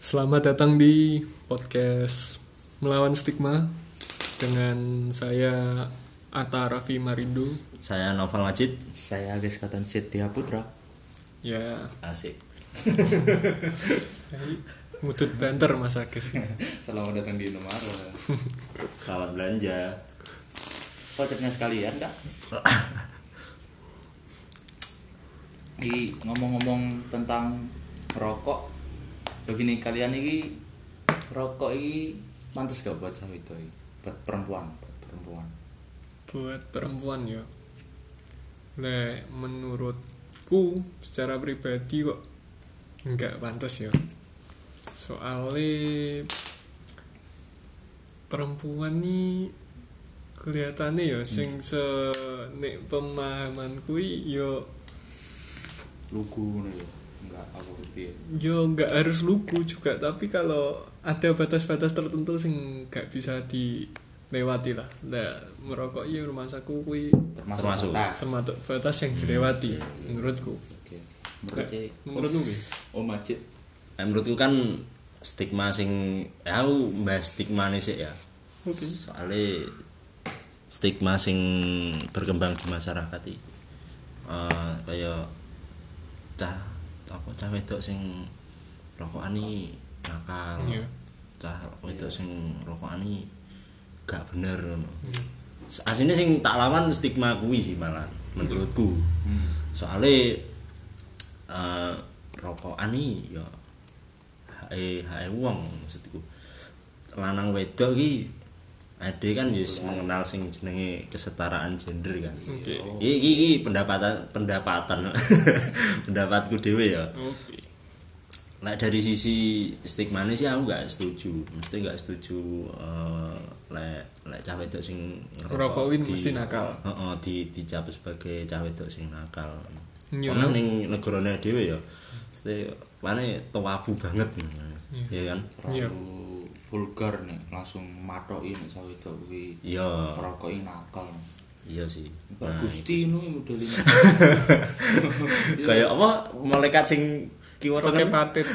Selamat datang di podcast Melawan Stigma dengan saya Atta Raffi Marindo. Saya Novel Majid. Saya Agus Katan Setia Putra. Ya, Asik. ngutut banter Mas Agus. Selamat datang di Indomaret. Selamat belanja. Koceknya sekalian kak. Ngomong-ngomong tentang rokok, begini kalian ini rokok ini pantas gak buat cewek itu? Buat perempuan. Buat perempuan ya. Menurutku secara pribadi kok enggak pantas ya. Soalnya perempuan ini kelihatannya ya sing nek pemahamanku ya Lugu nih, enggak apa gitu. yo nggak harus lugu juga, tapi kalau ada batas-batas tertentu sing nggak bisa dilewati lah. Nah, merokok ya rumah saku kui Termasuk batas. termasuk batas yang dilewati menurutku. Oke. Menurutmu Wi? Oh Majid. Menurutku kan stigma sing aku bahas stigma nih sih ya. Oke. Soalnya stigma sing berkembang di masyarakat iki kayak cah wedok sing rokokane nakal. Iya. Cah wedok sing rokokane gak bener ngono. Asline sing tak lawan stigma kuwi sih malah menurutku. Soalnya rokokane ya hae wong maksudku. Lanang wedok iki ade kan wis mengenal sing jenenge kesetaraan gender kan. Oke. Iki pendapatan pendapatku dhewe ya. Oke. Nah dari sisi stigmane sih aku gak setuju. Mesti gak setuju lek cah wedok sing Ngerokok kuwi mesti nakal. Heeh, dicap sebagai cah wedok sing nakal. Iya. Karena ning negarane dhewe ya mesti mane tabu banget. Ya kan? Iya. Vulgar nih, langsung matoki nek sawo itu kuwi. Iya. Ngerokoki nakal. Iya sih. Pak Gusti nu modelnya. Kayak apa malaikat sing kiwa Pakai patit.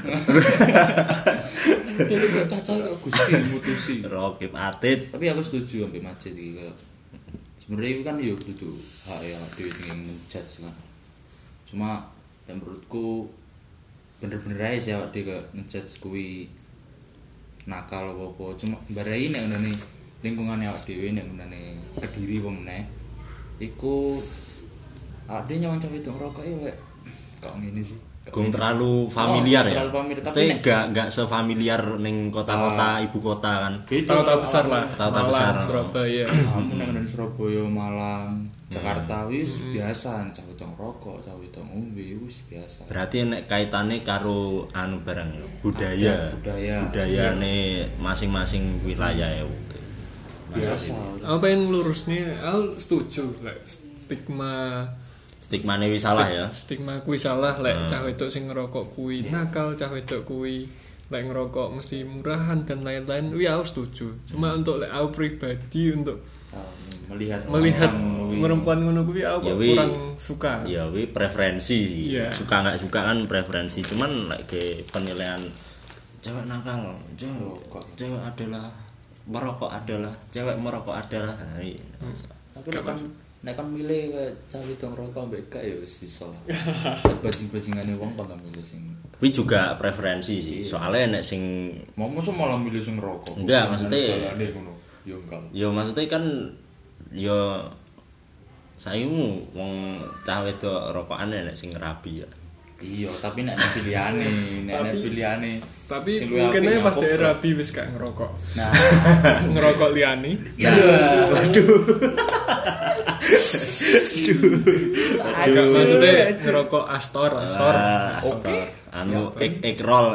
Ini kok caca kok Gusti mutusi. Rokip atit. Tapi aku setuju sampai Majid iki kayak sebenarnya kan yo kudu hak ya dhewe sing ngejudge kan. Cuma yang menurutku bener-bener aja sih awak dhewe ngejudge kuwi nakal apa-apa. Cuma barai nek ngene lingkungane awak dhewe nek ngene Kediri apa meneh. Iku awak dhewe nyawang cah wedok ngerokok lek kok ngene sih. Gung terlalu familiar ya. Terlalu familiar, tapi Mesti gak sefamiliar ning kota-kota ibu kota kan. Kota besar lah. Kota Malang, besar. Surabaya. Kamu nek ngene Surabaya, Malang, Jakarta wis biasa cah wedok ngerokok, cah wedok ngombe wis biasa. Berarti nek kaitane karo anu barang ya, budaya. Budayane masing-masing wilayah ya. Biasa. Apa yang lurus nih? Aku setuju lek Stigmane wis salah ya. Stigma kuwi salah lek cah wedok sing ngerokok kuwi nakal, cah wedok kuwi lek ngerokok mesti murahan dan lain-lain. Wi aku setuju. Cuma untuk lek aku pribadi untuk Melihat perempuan ngono kuwi aku Ya, kok wi. kurang suka. Ya wi preferensi sih. Iya. Suka nggak suka kan preferensi. Cuman lek ke penilaian cewek nakal, cewek adalah merokok adalah cewek merokok adalah. Nah, iya. tapi nek kan milih ke cah wedok ngerokok mbek gak ya wis iso lah. Sebajing-bajingane wong kok milih sing. Kuwi juga preferensi sih. Soalnya nek sing Mau mosok malah milih sing ngerokok. Enggak, maksudnya- balane ngono. Ya enggak. ya maksudnya kan ya saimu wong cah wedok rokokan nek sing rabi ya. Iya, tapi nek pilihanane, Tapi sing luwih mungkin apik aja pas nyapuk, dia bro. rabi wis gak ngerokok. Nah, Ngerokok liani. Agak maksudnya ngerokok Astor. Astor. Anu egg roll.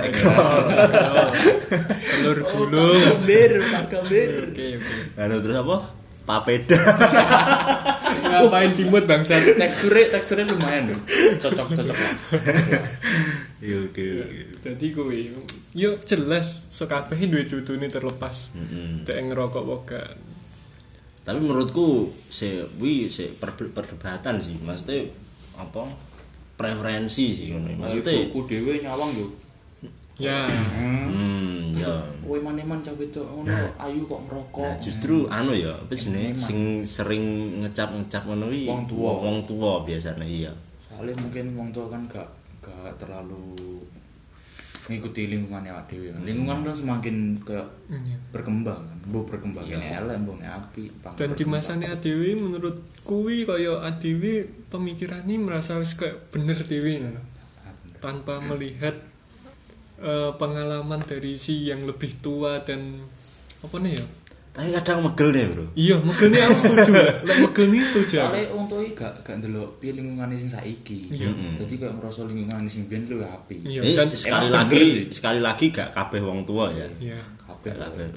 Telur gulung. Kambir. Oke. Anu terus apa? Papeda. Ngapain timut bangsa? Teksturnya lumayan loh. Cocok lah. Iya oke. Jadi kuwi yo jelas sekabeh duwe judune terlepas. Dek ngerokok wae. Tapi menurutku perdebatan sih. Maksudnya apa? Preferensi sih ngono. Maksudnya Buku dhewe nyawang yo. Ya. Ya. Kowe maneman cah wedok ngono ayu kok ngerokok. Nah, justru ya, apa jenenge sing sering ngecap-ngecap ngono kuwi wong tua biasanya iya. Soalnya mungkin wong tua kan gak terlalu ngikuti lingkungannya awake dhewe. Lingkungan kan semakin kayak berkembang kan. Mbok berkembang ini elek, mbok api. Dan di masane adewe menurut kuwi kaya adewe pemikirane merasa wis kayak bener dhewe ngono. Tanpa melihat pengalaman dari si yang lebih tua dan apa nih ya? Tapi kadang megel deh, Bro. Iya, megel nih aku setuju. Lek megel nih setuju. Soale wong tuwa iki gak ndelok piye lingkungane sing saiki. Dadi kayak ngerasa lingkungane sing biyen luwih apik. Dan sekali lagi gak kabeh wong tua ya. Iya. Kabeh.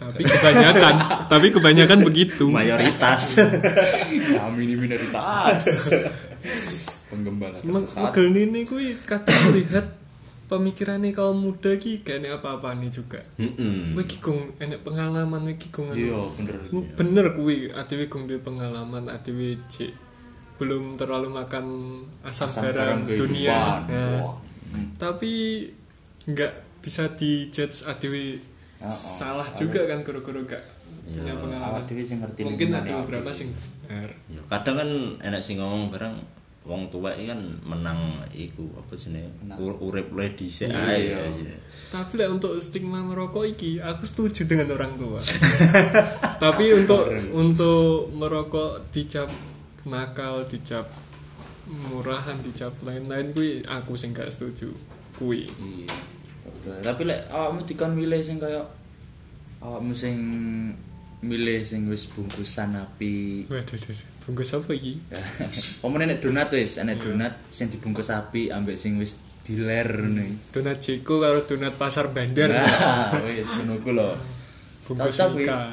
Tapi kebanyakan begitu. Mayoritas. Kami ini minoritas. Penggembala tersesat. Megel nih kuwi kadang melihat pemikirannya kaum muda ki gak enek apa-apa nih juga. Kowe ki gong enek pengalaman iki gong. Iya, bener. Bener kuwi adewe gong duwe pengalaman, adewe cek belum terlalu makan asam garam dunia. Nah, tapi nggak bisa dijudge adewe salah juga kan guru-guru gak punya pengalaman. Adewe sing ngerti mungkin ada beberapa sing bener. Ya, kadang kan enek sing ngomong bareng wong tua iki kan menang iku apa jenenge urip le dhisik ae ya. Tapi lah untuk stigma merokok iki aku setuju dengan orang tua. Tapi untuk merokok dicap nakal, dicap murahan, dicap lain-lain kuwi aku sing gak setuju kuwi. Iya. Tapi lek awakmu dikon milih sing kaya awakmu sing milih sing wis bungkusan api. Waduh, bungkus apa iki? Omone nek donat wis, enek donat sing dibungkus api ambek sing wis diler ngene. Donat Jeko karo donat Pasar Bandar. Nah, wis ngono ku lho. Bungkus Mika.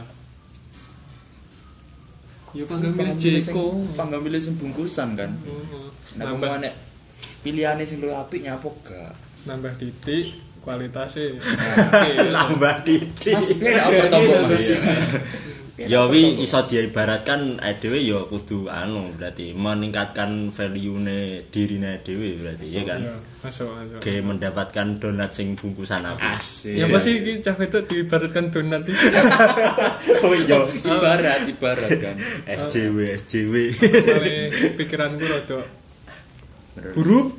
Yo panggang milih Jeko, panggang milih sing bungkusan kan. Nek omone pilihane sing luwih apik nyapo gak? Nambah titik kualitasnya. Nambah titik. Mas piye nek tombol Mas? Ya wi iso diibaratkan dhewe ya kudu berarti meningkatkan value-ne dirine dhewe berarti ya kan. Masuk. Ge mendapatkan donat sing bungkusan apa. Asik. Ya pasti iki cah wedok diibaratkan donat iki. Oh iya, ibarat kan. SJW. Male pikiranku rada buruk.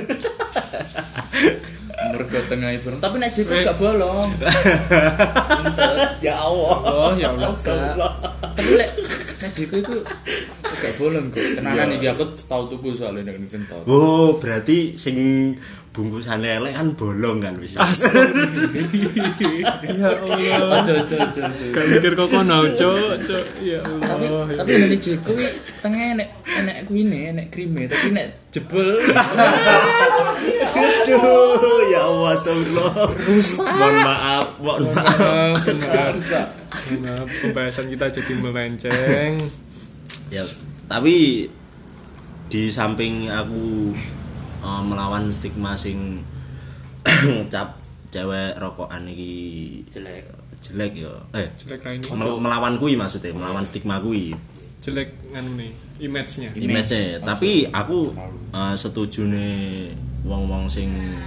Mergo tengah ibu. Tapi nek Jeko gak bolong. Ya Allah. Oh ya Allah. Tapi nek Jeko iku gak bolong kok. Tenanan iki aku tau tuku soalnya nek kental. Oh, berarti sing bungkusane elek kan bolong kan wis. Ya Allah. Aja. Gak mikir kok kono, Cuk. Ya Allah. Tapi nek Jeko iki tengah enek kuine, enek krime, tapi nek jebol. Aduh, ya Allah, astagfirullah. Rusak. Mohon maaf. Rusak. Pembahasan kita jadi melenceng. Ya, tapi di samping aku melawan stigma sing cap cewek rokokan iki jelek ya. Jelek ra ini. Melawan kuwi maksudnya, melawan stigma kuwi. Jelek nganu nih, image-nya. Tapi aku setuju nih wong-wong sing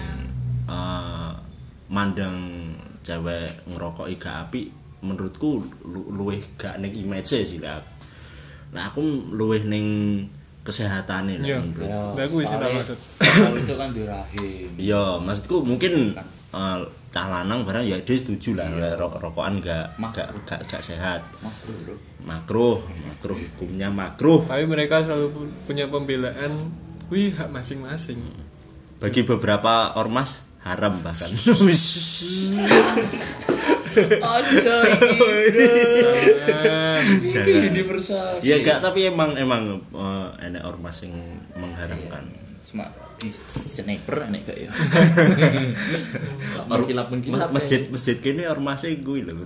mandang cewek ngerokok gak apik, menurutku luwih gak ning image sih lah. Nah aku luwih ning kesehatane lah. Lah aku wis tak maksud. Kalau itu kan dirahim. Iya, maksudku mungkin cah lanang barang ya dia setuju lah rokokan gak sehat. Makruh hukumnya makruh. Tapi mereka selalu punya pembelaan, wih hak masing-masing. Bagi beberapa ormas haram bahkan. Aja iki universal. Ya gak, tapi emang enek ormas yang mengharamkan. Cuma di sniper enek gak ya. Masjid kene ormasnya gue lho.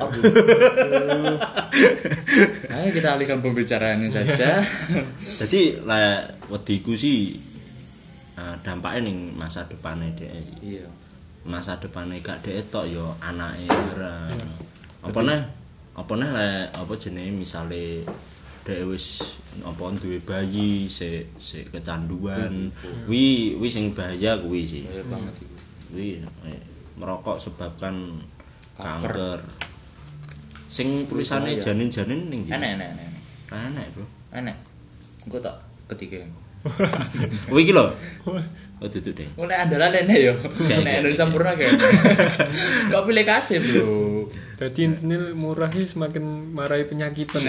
Ayo kita alihkan pembicaraannya saja. Jadi lah wediku sih dampaknya ning masa depannya dhek. Iya. Masa depannya gak dhek tok ya anake ora. Apa neh lek apa jenenge misale dhek wis apa duwe bayi sik kecanduan. Wi sing bahaya kuwi sih. Bahaya banget iku. Kuwi merokok sebabkan kanker. Sing tulisane janin-janin ning ndi? Enek. Enek, Bro. Enek. Engko tak ketiga. Kuwi iki lho. Oh duduk deh. Nek andalan enek yo. Nek Indonesia sempurna kayak. Kok pilih kasih, Bro. Jadi intinya murah sih semakin marai penyakitan.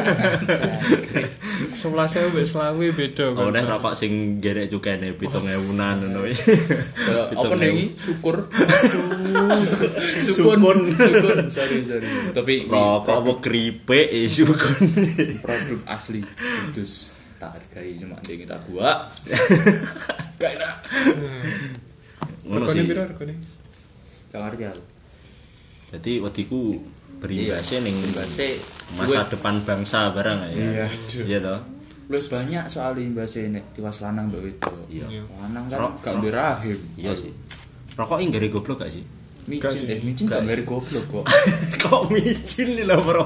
11.000 mbek 20.000 beda kan. Oh nek rokok sing gerek cukene 7.000-an ngono iki. Apa nih? Syukur. Sukun. Sorry. Tapi rokok apa keripik sukun. Produk asli kudus. Tak hargai cuma ndek kita gua. Gak enak. Ngono sih. Regane. Gak ngerti aku. Jadi wediku berimbasnya ning masa gue, depan bangsa barang ya. Iya toh. Plus banyak soal imbasnya nek tiwas lanang mbak itu. Iya. Lanang kan gak duwe rahim. Iya sih. Rokok iki gare goblok gak sih? Micin gak gare goblok kok. Kok micin lho bro.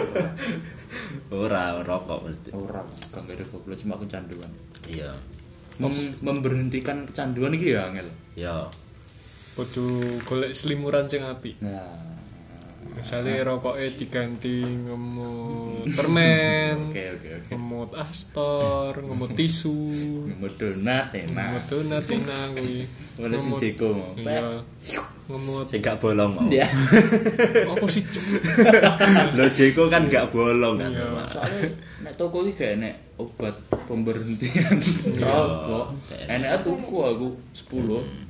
Ora rokok mesti. Ora gak gare goblok cuma kecanduan. Iya. Memberhentikan kecanduan iki ya angel. Iya. Kudu golek selimuran sing apik. Nah, misalnya rokoknya diganti ngemut permen, ngemut astor, ngemut tisu, ngemut donat enak kuwi. Oleh sing Jeko mau. Iya. Ngemut sing gak bolong mau. Iya. Apa sih? Lho Jeko kan gak bolong kan. Soalnya nek toko iki gak enek obat pemberhentian rokok. Enek tuku aku 10.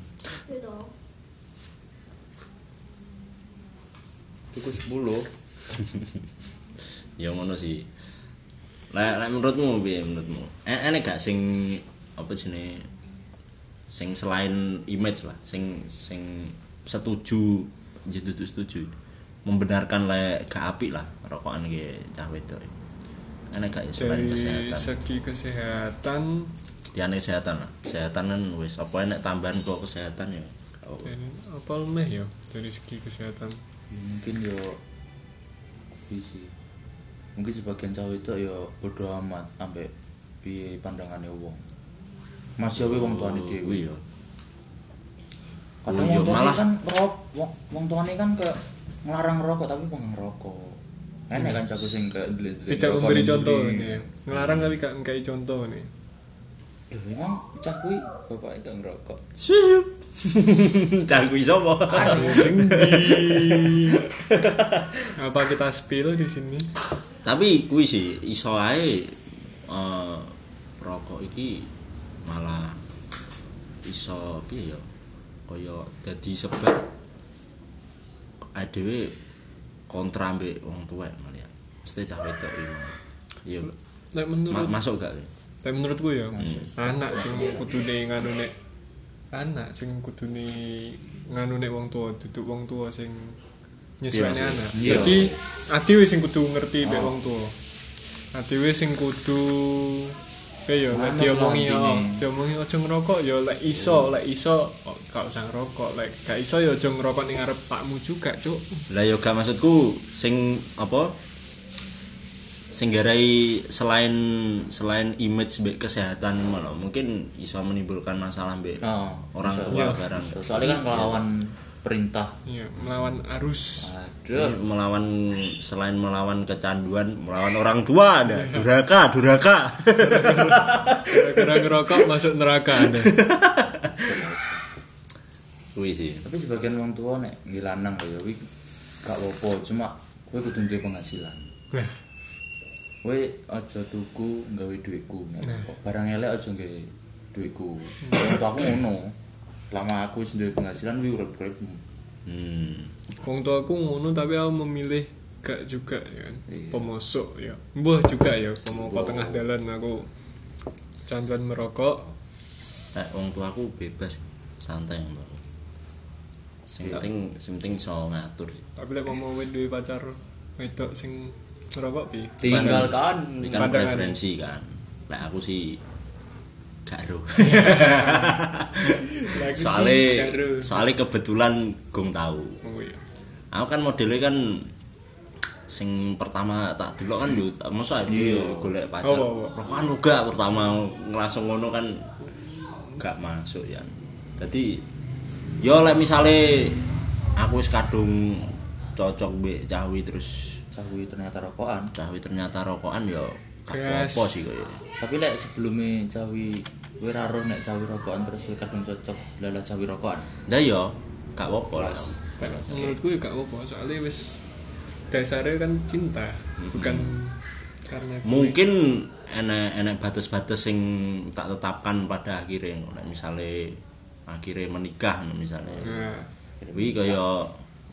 Tuku 10. Ya ngono sih. Lah menurutmu piye menurutmu? Enek gak sing apa jenenge sing selain image lah, sing setuju jadi setuju membenarkan lek gak apik lah rokokan iki cah wedok. Enek gak selain kesehatan? Dari segi kesehatan diane kesehatan lah. Kesehatan kan wis apa enek tambahan kok kesehatan ya. Apa meh ya dari segi kesehatan? Mungkin yo bisa. Mungkin sebagian cowok itu yo bodo amat ambek piye pandangane wong. Masih wae wong tuane dhewe yo. Kadang wong tuane kan wong tuane kan kayak ngelarang rokok tapi pengen ngerokok. Enak kan cakup sing kayak tidak memberi contoh nih. Ngelarang tapi gak ngkai contoh nih. Emang cah kuwi bapake gak ngerokok. Siup. Cah kuwi sapa? Apa kita spill di sini? Tapi kuwi sih iso ae rokok iki malah iso piye ya? Kaya dadi sebab dhewe kontra ambek wong tuwek malah ya. Mesti cah wedok iki. Iya. Nek menurut masuk gak? Tapi menurutku ya, anak sing kudune nganu nek anak sing kudune nganu nek wong tuwa, duduk wong tuwa sing nyesuaiane anak. Jadi adewe sing kudu ngerti mek wong tuwa. Adewe sing kudu kaya nek diomongi aja ngerokok ya lek iso gak usah ngerokok, lek gak iso ya aja ngerokok ning ngarep pakmu juga, Cuk. Lah ya gak maksudku sing apa? Sing garai selain image mbek kesehatan malah mungkin bisa menimbulkan masalah mbek orang tua barang. Soalnya kan melawan perintah. Iya, melawan arus. Aduh, selain melawan kecanduan, melawan orang tua ada. Duraka. Gara-gara ngerokok masuk neraka ada. Kuwi sih. Tapi sebagian wong tua nek ngilanang kaya kuwi gak apa-apa, cuma kowe kudu duwe penghasilan. Nah, kowe aja tuku nggawe dhuwitku. Barang elek aja nggawe dhuwitku. Aku ngono. Lama aku wis duwe penghasilan kuwi urip-uripmu. Wong tuaku ngono tapi aku memilih gak juga ya kan. Pemosok ya. Mbah juga ya pemokok tengah dalan aku canduan merokok. Wong tuaku bebas, santai mbak. Sing penting iso ngatur. Tapi lek mau duwe pacar wedok sing ngerokok piye? Tinggalkan kan preferensi kan. Lah aku sih gak ero. soalnya kebetulan gong tahu. Oh iya. Aku kan modelnya kan sing pertama tak delok kan yo mosok aja golek pacar. Rokokan uga pertama langsung ngono kan gak masuk ya. Jadi yo lek misale aku wis kadung cocok mbek cawi terus cawi ternyata rokokan ya gak apa sih koyo. Tapi lek sebelumnya cawi kowe ra roh nek cawi rokokan terus kowe kadung cocok lala cawi rokokan. Lah ya gak apa-apa lah. Menurutku ya gak apa-apa soalnya wis dasarnya kan cinta bukan karena mungkin enak batas-batas sing tak tetapkan pada akhirnya nek misale akhirnya menikah misalnya. Kuwi kaya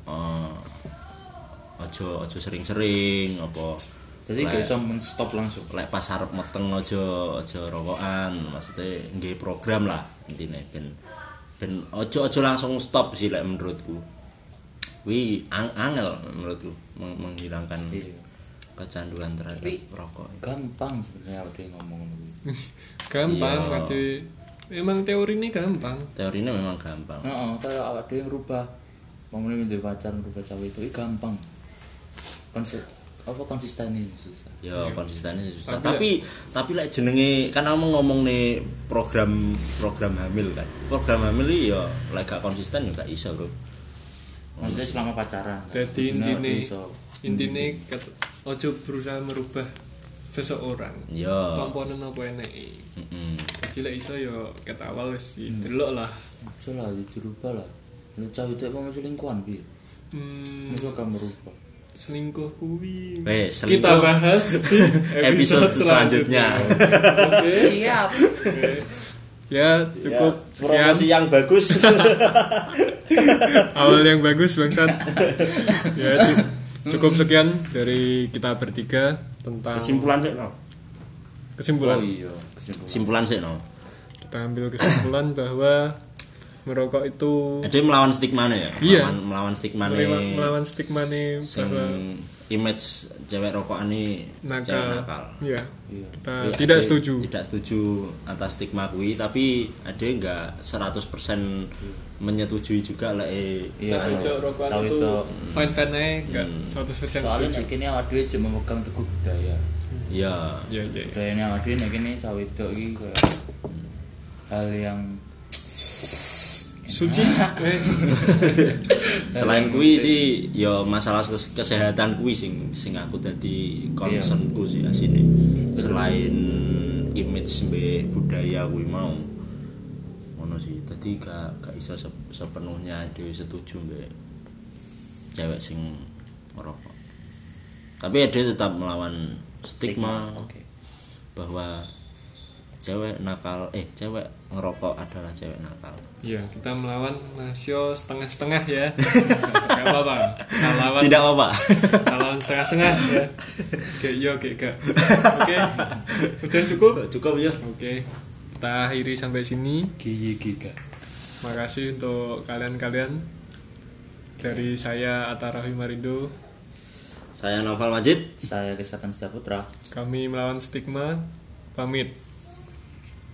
aja sering-sering apa. Jadi gak iso men-stop langsung. Lek pas arep meteng aja rokokan, maksudnya nggih program lah intine ben aja langsung stop sih lek menurutku. Kuwi angel menurutku menghilangkan kecanduan terhadap rokok. Gampang sebenarnya ada yang ngomong ngono. Gampang berarti memang teori ini gampang. Teorinya memang gampang. Heeh, kayak ada yang rubah. Ngomongin menjadi pacar rubah cawe itu gampang. Konsistennya susah. Ya, konsistennya susah. Tapi lek jenenge kan ngomong nih program hamil kan. Program hamil iki ya lek gak konsisten ya gak iso, Bro. Maksudnya selama pacaran. Jadi intine ojo berusaha merubah seseorang. Ya. Komponen apa eneke. Jadi lek iso ya ket awal wis delok lah. Ojo lah dirubah lah. Nek cawe itu mau selingkuhan piye? Masa kamu merubah. Selingkuh kuwi kita bahas di episode selanjutnya. Oke, siap. Ya, cukup sekian. Promosi yang bagus. Awal yang bagus bangsat. Ya, cukup sekian dari kita bertiga tentang kesimpulan sih, no. Kesimpulan. Oh iya, kesimpulan sih, no. Kita ambil kesimpulan bahwa merokok itu ada melawan stigma ya. Iya. Melawan stigma melawan stigma bahwa image cewek rokokan ini nakal. Iya. Kita tidak setuju atas stigma kuwi, tapi ada enggak 100% menyetujui juga lah itu rokokan itu fine aja enggak 100% soalnya setuju. Kini awak dhewe cuma memegang teguh budaya. Iya. Budayane awak dhewe nek kene cawe itu iki kayak hal yang suci. Selain kuwi sih ya masalah kesehatan kuwi sing aku dadi concernku sih asine. Selain image mbek budaya kuwi mau ngono sih. Dadi gak iso sepenuhnya dhewe setuju mbek cewek sing ngerokok. Tapi dia tetap melawan stigma. Bahwa cewek ngerokok adalah cewek nakal. Iya, kita melawan nasio setengah-setengah ya. Enggak apa-apa. Tidak apa-apa. Melawan setengah-setengah ya. Gak. Oke. Udah cukup? Cukup ya. Oke. Kita akhiri sampai sini. Giga. Makasih untuk kalian-kalian. Dari saya Atta Rahim Marindo. Saya Noval Majid. Saya Kesehatan Setiaputra. Kami melawan stigma. Pamit.